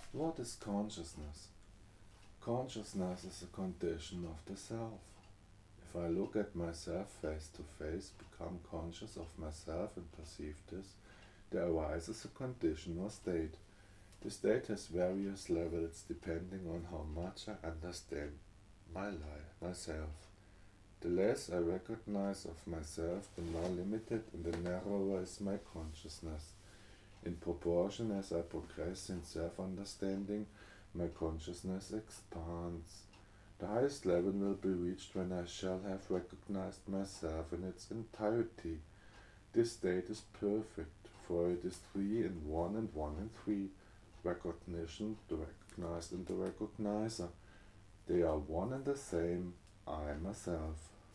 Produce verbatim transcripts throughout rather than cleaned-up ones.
What is consciousness? Consciousness is a condition of the self. If I look at myself face to face, become conscious of myself and perceive this, there arises a condition or state. The state has various levels depending on how much I understand my life, myself. The less I recognize of myself, the more limited and the narrower is my consciousness. In proportion as I progress in self-understanding, my consciousness expands. The highest level will be reached when I shall have recognized myself in its entirety. This state is perfect, for it is three in one and one in three. Recognition, the recognized and the recognizer. They are one and the same, I myself.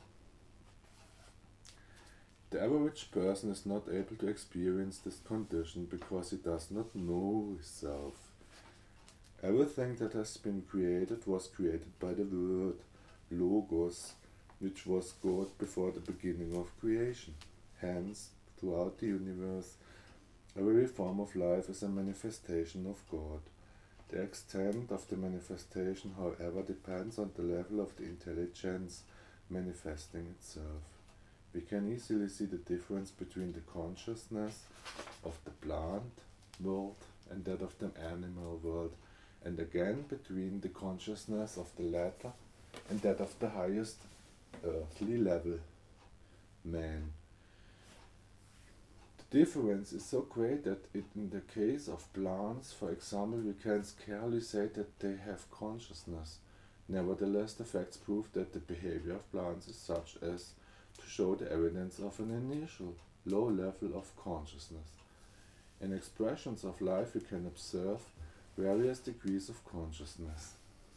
The average person is not able to experience this condition because he does not know himself. Everything that has been created was created by the word, Logos, which was God before the beginning of creation. Hence, throughout the universe, every form of life is a manifestation of God. The extent of the manifestation, however, depends on the level of the intelligence manifesting itself. We can easily see the difference between the consciousness of the plant world and that of the animal world, and again between the consciousness of the latter and that of the highest earthly level, man. The difference is so great that it, in the case of plants, for example, we can scarcely say that they have consciousness. Nevertheless, the facts prove that the behavior of plants is such as to show the evidence of an initial, low level of consciousness. In expressions of life we can observe various degrees of consciousness.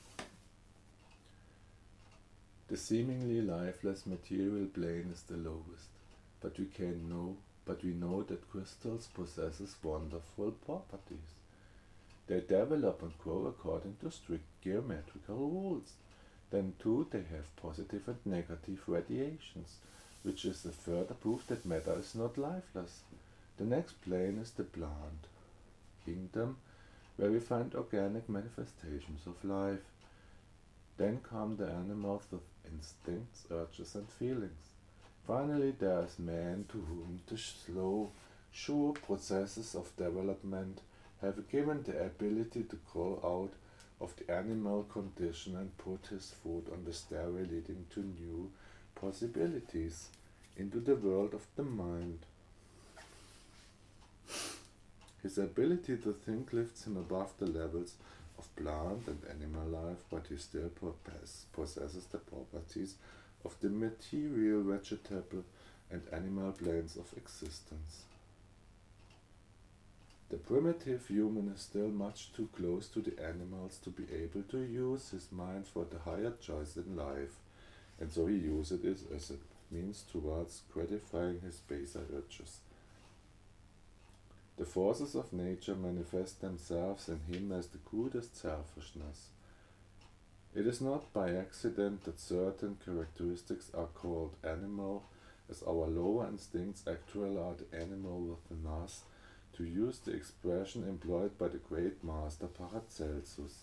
The seemingly lifeless material plane is the lowest, but we can know, but we know that crystals possesses wonderful properties. They develop and grow according to strict geometrical rules. Then too they have positive and negative radiations, which is a further proof that matter is not lifeless. The next plane is the plant kingdom, where we find organic manifestations of life. Then come the animals with instincts, urges and feelings. Finally there is man, to whom the slow, sure processes of development have given the ability to grow out of the animal condition and put his foot on the stairway leading to new possibilities, into the world of the mind. His ability to think lifts him above the levels of plant and animal life, but he still possesses the properties of the material, vegetable and animal planes of existence. The primitive human is still much too close to the animals to be able to use his mind for the higher choice in life, and so he uses it as a means towards gratifying his baser urges. The forces of nature manifest themselves in him as the crudest selfishness. It is not by accident that certain characteristics are called animal, as our lower instincts actually are the animal within us, to use the expression employed by the great master Paracelsus.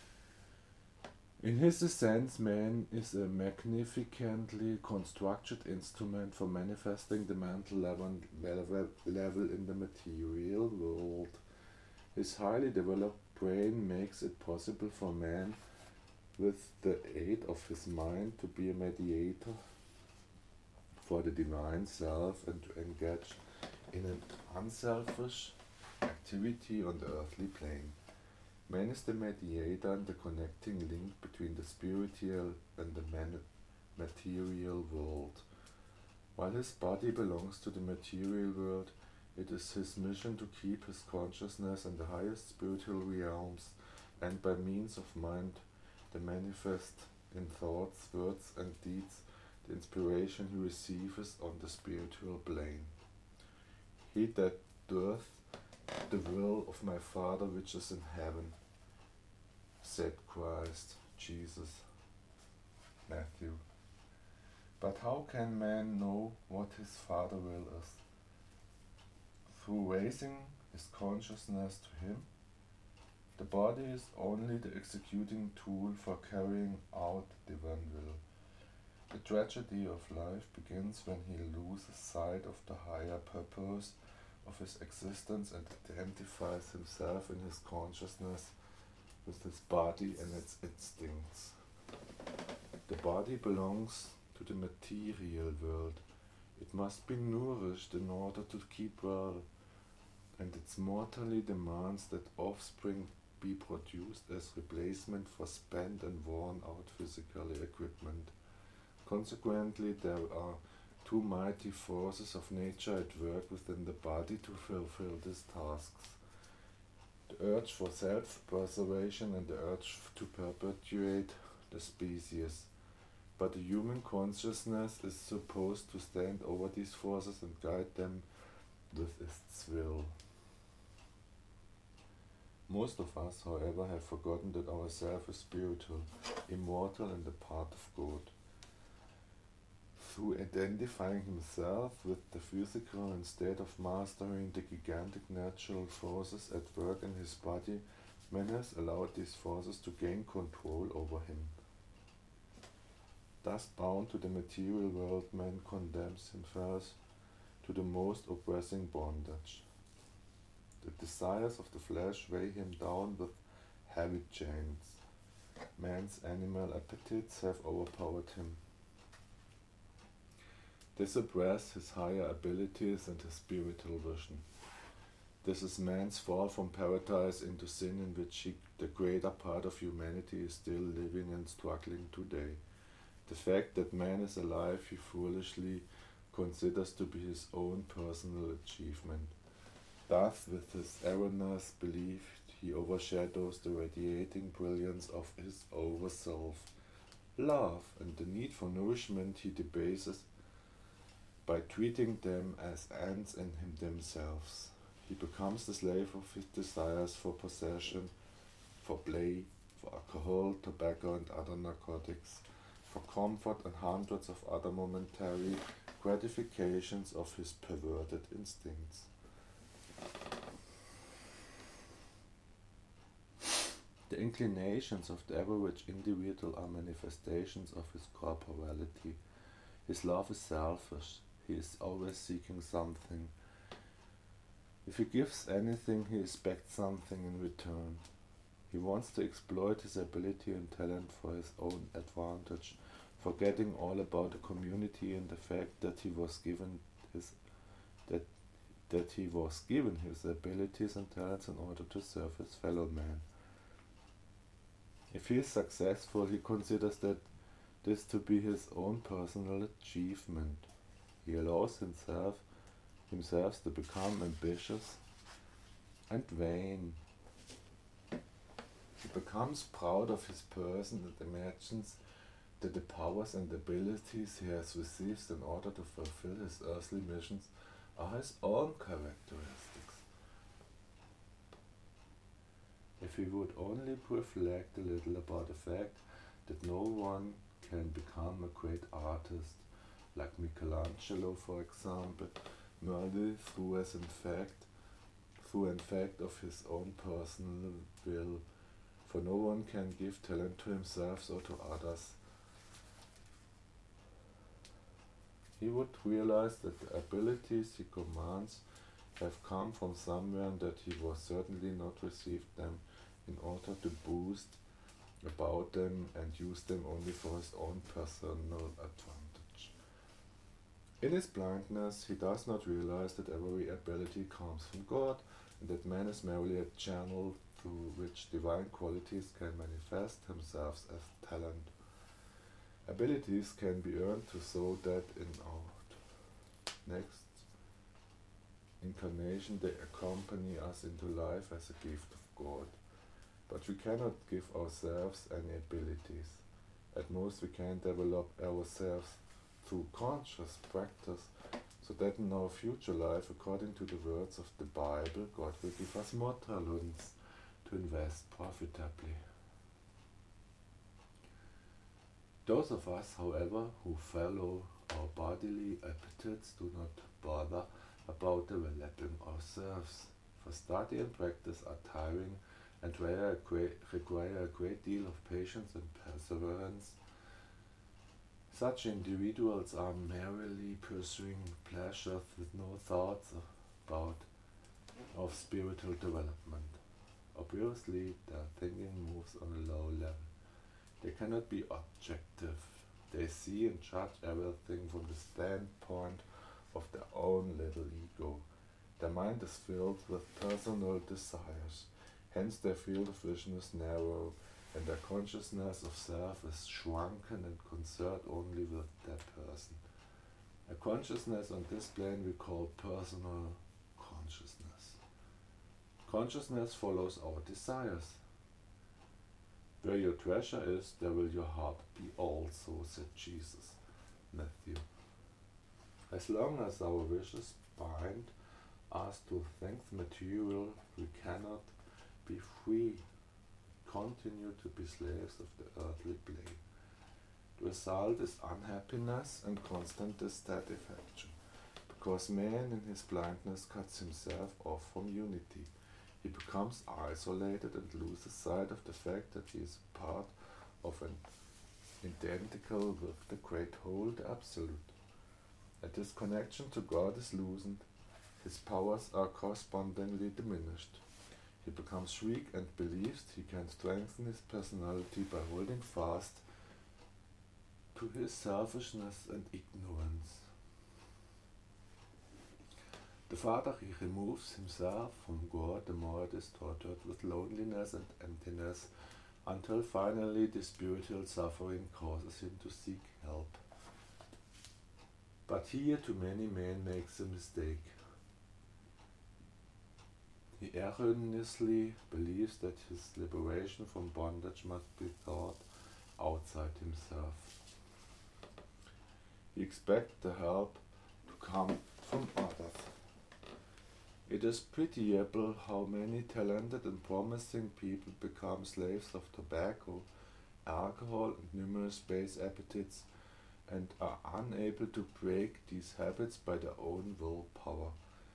In his sense, man is a magnificently constructed instrument for manifesting the mental level, level, level in the material world. His highly developed brain makes it possible for man, with the aid of his mind, to be a mediator for the divine self and to engage in an unselfish activity on the earthly plane. Man is the mediator and the connecting link between the spiritual and the man- material world. While his body belongs to the material world, it is his mission to keep his consciousness in the highest spiritual realms, and by means of mind, the manifest in thoughts, words and deeds, the inspiration he receives on the spiritual plane. He that doeth the will of my Father which is in heaven, said Christ, Jesus, Matthew. But how can man know what his Father will is? Through raising his consciousness to him. The body is only the executing tool for carrying out divine will. The tragedy of life begins when he loses sight of the higher purpose of his existence and identifies himself in his consciousness with his body and its instincts. The body belongs to the material world. It must be nourished in order to keep well, and it mortally demands that offspring be produced as replacement for spent and worn out physical equipment. Consequently, there are two mighty forces of nature at work within the body to fulfill these tasks: the urge for self-preservation and the urge to perpetuate the species. But the human consciousness is supposed to stand over these forces and guide them with its will. Most of us, however, have forgotten that our self is spiritual, immortal, and a part of God. Through identifying himself with the physical instead of mastering the gigantic natural forces at work in his body, man has allowed these forces to gain control over him. Thus bound to the material world, man condemns himself to the most oppressing bondage. The desires of the flesh weigh him down with heavy chains. Man's animal appetites have overpowered him. They suppress his higher abilities and his spiritual vision. This is man's fall from paradise into sin, in which he, the greater part of humanity is still living and struggling today. The fact that man is alive he foolishly considers to be his own personal achievement. Thus, with his erroneous belief, he overshadows the radiating brilliance of his overself. Love and the need for nourishment he debases by treating them as ends in him themselves. He becomes the slave of his desires for possession, for play, for alcohol, tobacco and other narcotics, for comfort and hundreds of other momentary gratifications of his perverted instincts. The inclinations of the average individual are manifestations of his corporality. His love is selfish. He is always seeking something. If he gives anything, he expects something in return. He wants to exploit his ability and talent for his own advantage, forgetting all about the community and the fact that he was given his that that he was given his abilities and talents in order to serve his fellow man. If he is successful, he considers that this to be his own personal achievement. He allows himself himself to become ambitious and vain. He becomes proud of his person and imagines that the powers and abilities he has received in order to fulfill his earthly missions are his own characteristics. If he would only reflect a little about the fact that no one can become a great artist, like Michelangelo, for example, merely through as in fact, through in fact of his own personal will, for no one can give talent to himself or to others. He would realize that the abilities he commands have come from somewhere and that he was certainly not received them in order to boast about them and use them only for his own personal advantage. In his blindness, he does not realize that every ability comes from God and that man is merely a channel through which divine qualities can manifest themselves as talent. Abilities can be earned to sow that in our next incarnation they accompany us into life as a gift of God. But we cannot give ourselves any abilities. At most we can develop ourselves through conscious practice, so that in our future life, according to the words of the Bible, God will give us more talents to invest profitably. Those of us, however, who follow our bodily appetites do not bother about developing ourselves, for study and practice are tiring and require a great, require a great deal of patience and perseverance. Such individuals are merely pursuing pleasures with no thoughts about of spiritual development. Obviously, their thinking moves on a low level. They cannot be objective. They see and judge everything from the standpoint of their own little ego. Their mind is filled with personal desires. Hence their field of vision is narrow, and their consciousness of self is shrunken and concerned only with their person. A consciousness on this plane we call personal consciousness. Consciousness follows our desires. Where your treasure is, there will your heart be also, said Jesus. Matthew. As long as our wishes bind us to things material, we cannot be free, continue to be slaves of the earthly plane. The result is unhappiness and constant dissatisfaction, because man in his blindness cuts himself off from unity. He becomes isolated and loses sight of the fact that he is part of an identical with the great whole, the Absolute. As his connection to God is loosened, his powers are correspondingly diminished. He becomes weak and believes he can strengthen his personality by holding fast to his selfishness and ignorance. The farther he removes himself from God, the more it is tortured with loneliness and emptiness, until finally the spiritual suffering causes him to seek help. But here too many men makes a mistake. He erroneously believes that his liberation from bondage must be sought outside himself. He expects the help to come from others. It is pitiable how many talented and promising people become slaves of tobacco, alcohol, and numerous base appetites, and are unable to break these habits by their own willpower.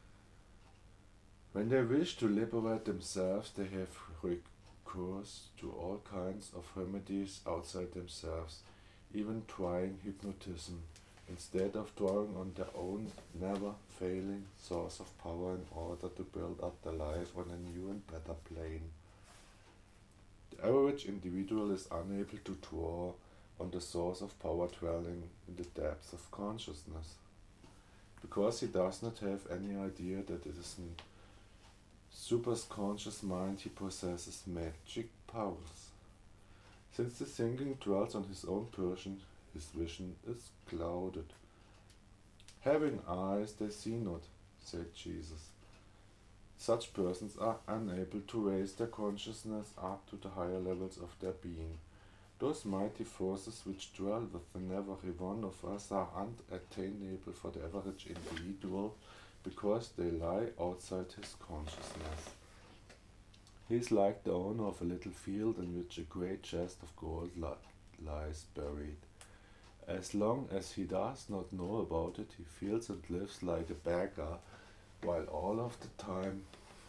When they wish to liberate themselves, they have recourse to all kinds of remedies outside themselves, even trying hypnotism, instead of drawing on their own never-failing source of power in order to build up their life on a new and better plane. The average individual is unable to draw on the source of power dwelling in the depths of consciousness, because he does not have any idea that it is in superconscious mind he possesses magic powers. Since the thinking dwells on his own person, his vision is clouded. Having eyes they see not, said Jesus. Such persons are unable to raise their consciousness up to the higher levels of their being. Those mighty forces which dwell within every one of us are unattainable for the average individual, because they lie outside his consciousness. He is like the owner of a little field in which a great chest of gold li- lies buried. As long as he does not know about it, he feels and lives like a beggar, while all of the time,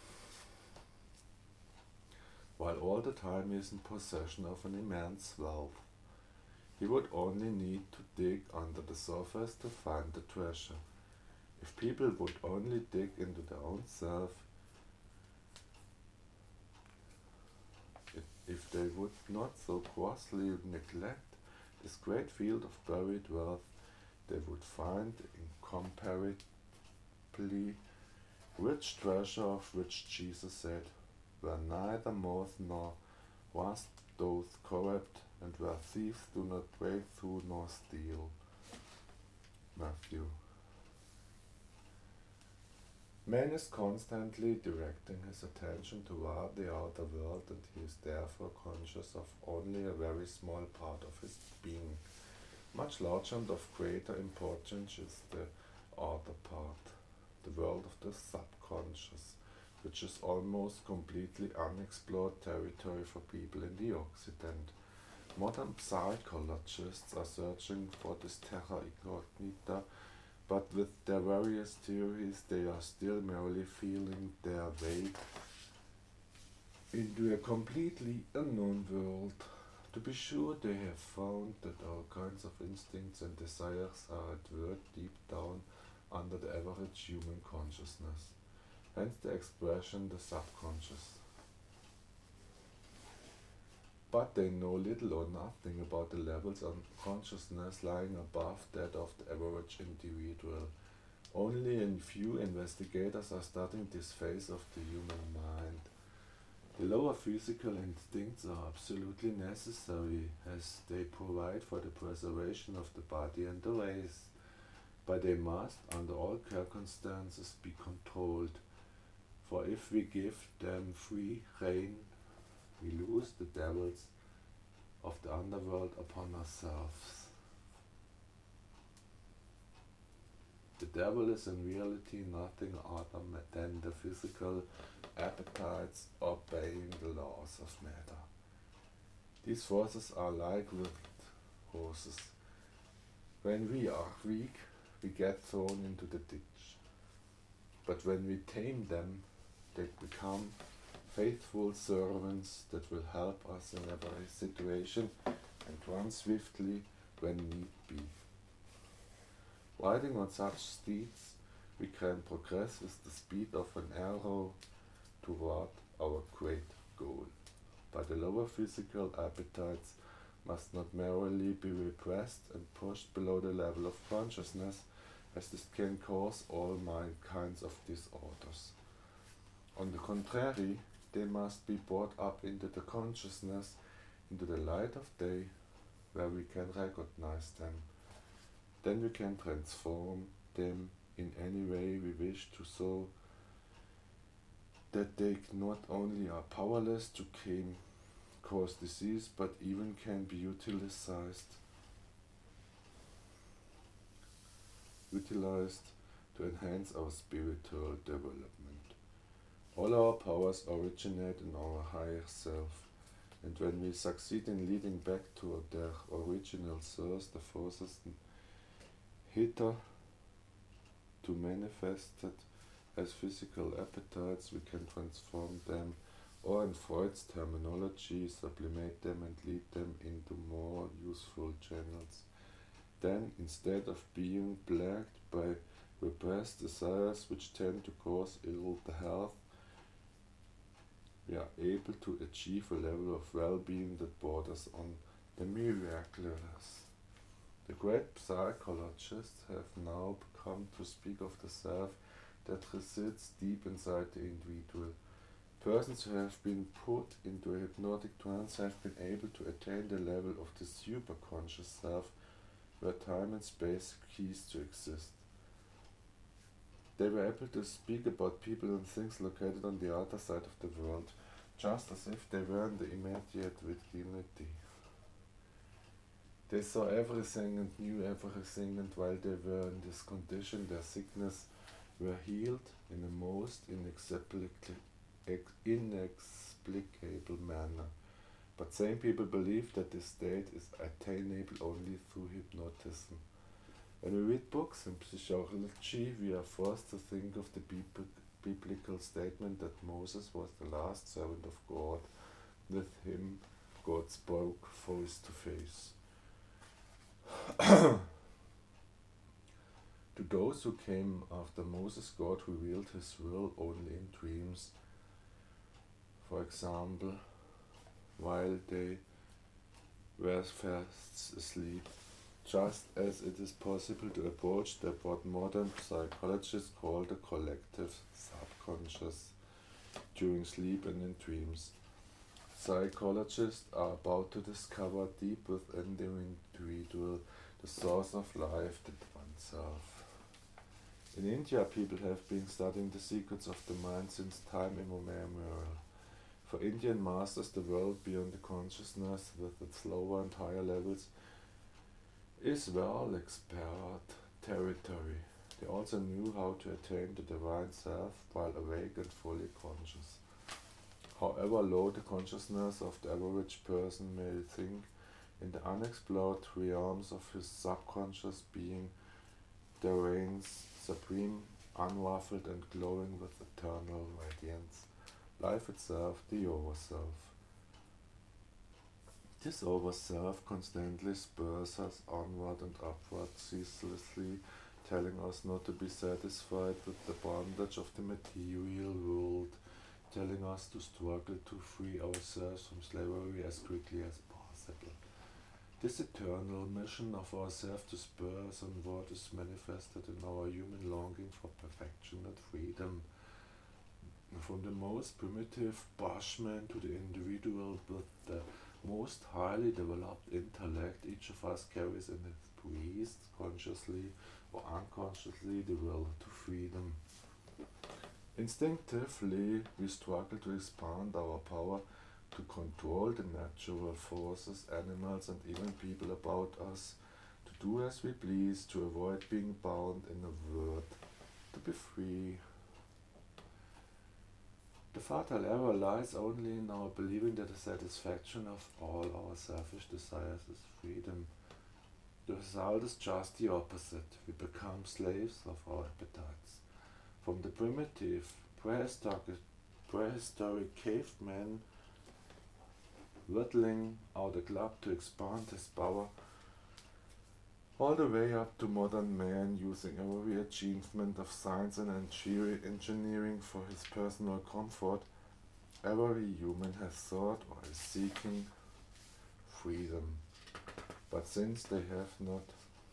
while all the time he is in possession of an immense wealth. He would only need to dig under the surface to find the treasure. If people would only dig into their own self, if, if they would not so grossly neglect this great field of buried wealth, they would find incomparably rich treasure, of which Jesus said, where neither moth nor rust doth corrupt, and where thieves do not break through nor steal. Matthew. Man is constantly directing his attention toward the outer world, and he is therefore conscious of only a very small part of his being. Much larger and of greater importance is the other part, the world of the subconscious, which is almost completely unexplored territory for people in the Occident. Modern psychologists are searching for this terra incognita, but with their various theories they are still merely feeling their way into a completely unknown world. To be sure, they have found that all kinds of instincts and desires are at work deep down under the average human consciousness, hence the expression the subconscious. But they know little or nothing about the levels of consciousness lying above that of the average individual. Only a few investigators are studying this phase of the human mind. The lower physical instincts are absolutely necessary, as they provide for the preservation of the body and the race, but they must, under all circumstances, be controlled, for if we give them free rein, we lose the devils of the underworld upon ourselves. The devil is in reality nothing other than the physical appetites obeying the laws of matter. These forces are like wild horses. When we are weak, we get thrown into the ditch. But when we tame them, they become faithful servants that will help us in every situation and run swiftly when need be. Riding on such steeds, we can progress with the speed of an arrow toward our great goal. But the lower physical appetites must not merely be repressed and pushed below the level of consciousness, as this can cause all kinds of disorders. On the contrary, they must be brought up into the consciousness, into the light of day, where we can recognize them. Then we can transform them in any way we wish to, so that they not only are powerless to can cause disease, but even can be utilized, utilized to enhance our spiritual development. All our powers originate in our higher self, and when we succeed in leading back to their original source the forces hither to manifested as physical appetites, we can transform them, or in Freud's terminology, sublimate them and lead them into more useful channels. Then, instead of being plagued by repressed desires which tend to cause ill health, we are able to achieve a level of well-being that borders on the miraculous. The great psychologists have now come to speak of the self that resides deep inside the individual. Persons who have been put into a hypnotic trance have been able to attain the level of the superconscious self, where time and space cease to exist. They were able to speak about people and things located on the other side of the world, just as if they were in the immediate vicinity. They saw everything and knew everything, and while they were in this condition, their sickness were healed in a most inexplicable, inexplicable manner. But same people believe that this state is attainable only through hypnotism. When we read books in psychology, we are forced to think of the biblical statement that Moses was the last servant of God. With him, God spoke face to face. To those who came after Moses, God revealed his will only in dreams. For example, while they were fast asleep, just as it is possible to approach the what modern psychologists call the collective subconscious during sleep and in dreams. Psychologists are about to discover deep within the individual the source of life, the oneself. In India, people have been studying the secrets of the mind since time immemorial. For Indian masters, the world beyond the consciousness, with its lower and higher levels, is well explored territory. They also knew how to attain the divine self while awake and fully conscious. However low the consciousness of the average person may think, in the unexplored realms of his subconscious being, there reigns supreme, unruffled and glowing with eternal radiance, life itself, the overself. This overself constantly spurs us onward and upward, ceaselessly telling us not to be satisfied with the bondage of the material world, telling us to struggle to free ourselves from slavery as quickly as possible. This eternal mission of ourselves to spur us onward is manifested in our human longing for perfection and freedom. From the most primitive bushman to the individual with the most highly developed intellect, each of us carries in its breast, consciously or unconsciously, the will to freedom. Instinctively, we struggle to expand our power to control the natural forces, animals and even people about us, to do as we please, to avoid being bound in a word, to be free. The fatal error lies only in our believing that the satisfaction of all our selfish desires is freedom. The result is just the opposite. We become slaves of our appetites. From the primitive, prehistoric, prehistoric caveman whittling out a club to expand his power, all the way up to modern man using every achievement of science and engineering for his personal comfort, every human has sought or is seeking freedom. But since they have not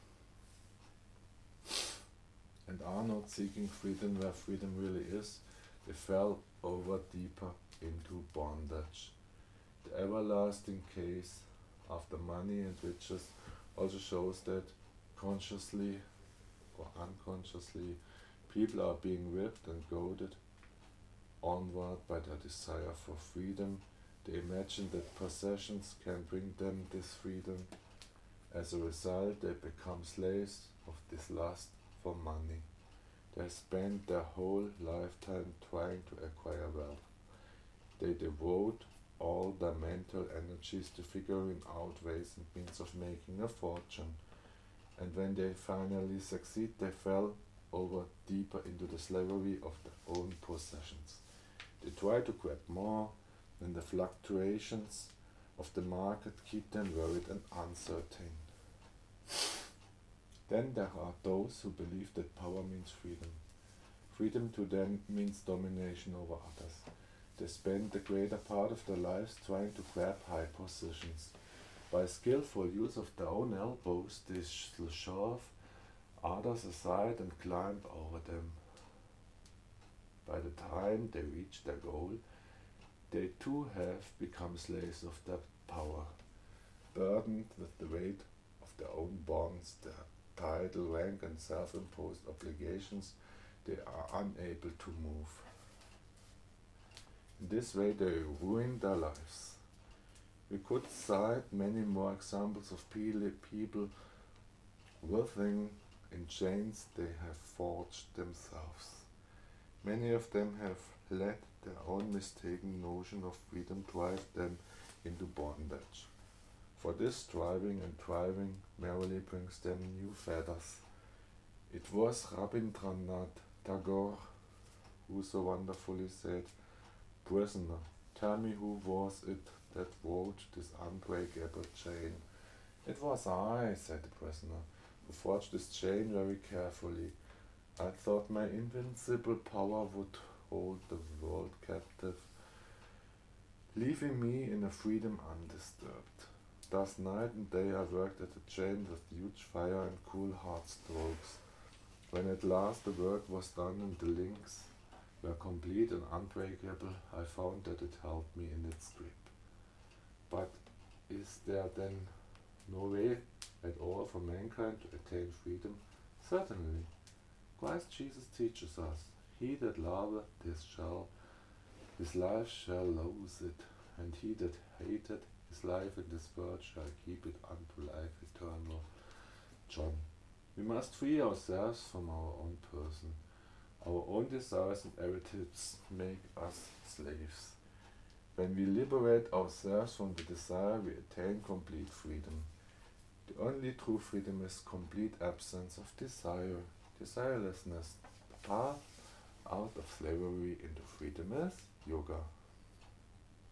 and are not seeking freedom where freedom really is, they fell over deeper into bondage. The everlasting case of the money and riches also shows that consciously or unconsciously people are being whipped and goaded onward by their desire for freedom. They imagine that possessions can bring them this freedom. As a result, they become slaves of this lust for money. They spend their whole lifetime trying to acquire wealth. They devote all their mental energies to figuring out ways and means of making a fortune. And when they finally succeed, they fell over deeper into the slavery of their own possessions. They try to grab more, and the fluctuations of the market keep them worried and uncertain. Then there are those who believe that power means freedom. Freedom to them means domination over others. They spend the greater part of their lives trying to grab high positions. By skillful use of their own elbows, they shove others aside and climb over them. By the time they reach their goal, they too have become slaves of their power, burdened with the weight of their own bonds, their title, rank and self-imposed obligations. They are unable to move. In this way they ruin their lives. We could cite many more examples of people writhing in chains they have forged themselves. Many of them have let their own mistaken notion of freedom drive them into bondage. For this striving and thriving merely brings them new fetters. It was Rabindranath Tagore who so wonderfully said, "Prisoner, tell me who was it that wove this unbreakable chain?" "It was I," said the prisoner, "who forged this chain very carefully. I thought my invincible power would hold the world captive, leaving me in a freedom undisturbed. Thus night and day I worked at the chain with huge fire and cool hard strokes. When at last the work was done and the links were complete and unbreakable, I found that it held me in its grip." But is there then no way at all for mankind to attain freedom? Certainly. Christ Jesus teaches us, "He that loveth this shall, his life shall lose it, and he that hateth his life in this world shall keep it unto life eternal." John. We must free ourselves from our own person. Our own desires and appetites make us slaves. When we liberate ourselves from the desire, we attain complete freedom. The only true freedom is complete absence of desire, desirelessness. The path out of slavery into freedom is yoga.